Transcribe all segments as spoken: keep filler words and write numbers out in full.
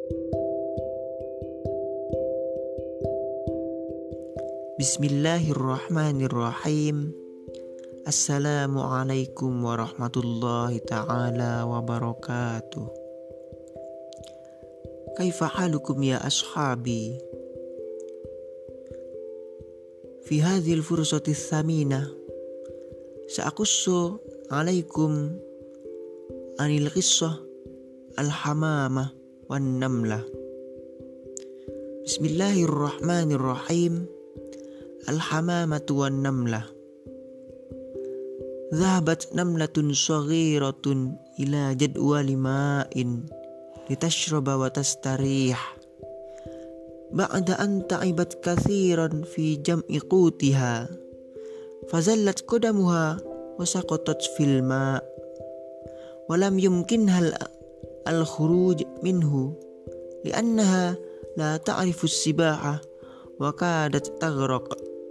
Bismillahirrahmanirrahim. Assalamualaikum warahmatullahi ta'ala wabarakatuh. Kaifa halukum ya ashabi? Fi hadhil fursati thamina sa'akussu alaikum anil qissah al-hamamah wan namlah. Bismillahirrahmanirrahim. Al-hamamatu wan namlah. Dhahabat namlatun saghiratun ila jadwali ma'in litashraba wa tastarih. Ba'da an ta'ibat kathiran fi jam'i qutiha fazallat qadamuha wa saqatat fil ma' wa lam yumkinha al-khuruj minhu li'annaha la ta'rifu as-sibaha wa kadat taghraq.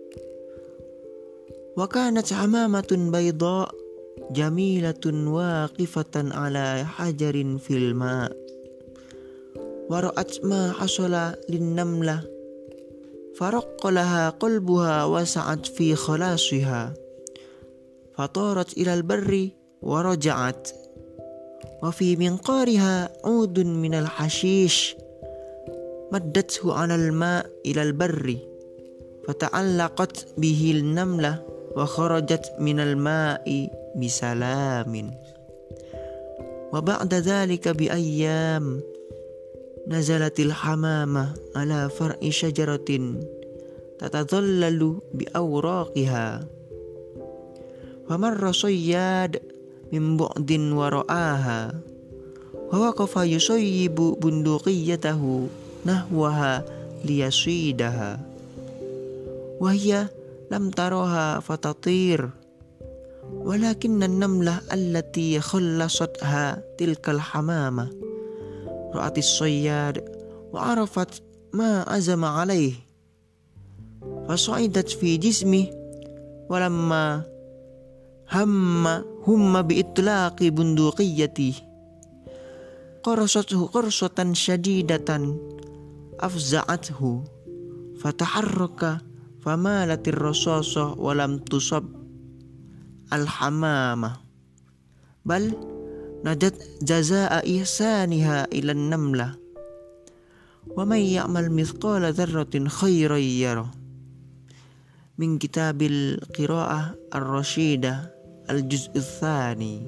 Wa kanat hamamatun bayda jamilatun waqifatan ala hajarin fil ma' wa ra'at ma hasala lin namlah faraqqa laha qalbuha wa sa'at fi khalasiha fatarat ila al barri wa raja'at wa fi minqariha 'udun min al hashish maddathu 'ala al ma' ila al barri fata'allaqat bihi al namlah wa kharajat min al ma'i bisalamin. Wa ba'da dhalika bi ayyam nazalatil hamamah ala far'i syajaratin tatadhallalu bi awraqiha wa marra sayyad min bu'din wa ra'aha wa waqafa yusayyibu bunduqiyatahu nahwaha liyasidaha wa hiya lam taraha fatatir walakinna an-namlah allati khallasatha tilkal hamamah ra'at as-sayyad wa arafat ma azama alayh fasa'idat fi jismi walamma hamma humma bi itlaqi bunduqiyati qarasathu qarsatan syadidatan afza'athu fataharraka famalatir rasasah walam tusab al-hamamah bal najat jazaa ihsaniha ilan namlah wa man ya'mal mithqala dzarratin khairan yarah. Min kitabil qiraah ar-rasyidah al-juz' ats-tsani.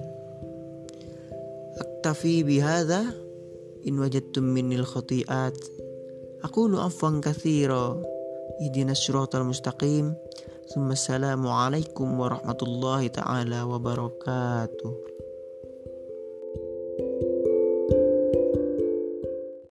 Aktafi bihadza in wajadtum minil khati'at aqulu afwan katsira ihdinas siratal mustaqim. Assalamualaikum warahmatullahi ta'ala wabarakatuh.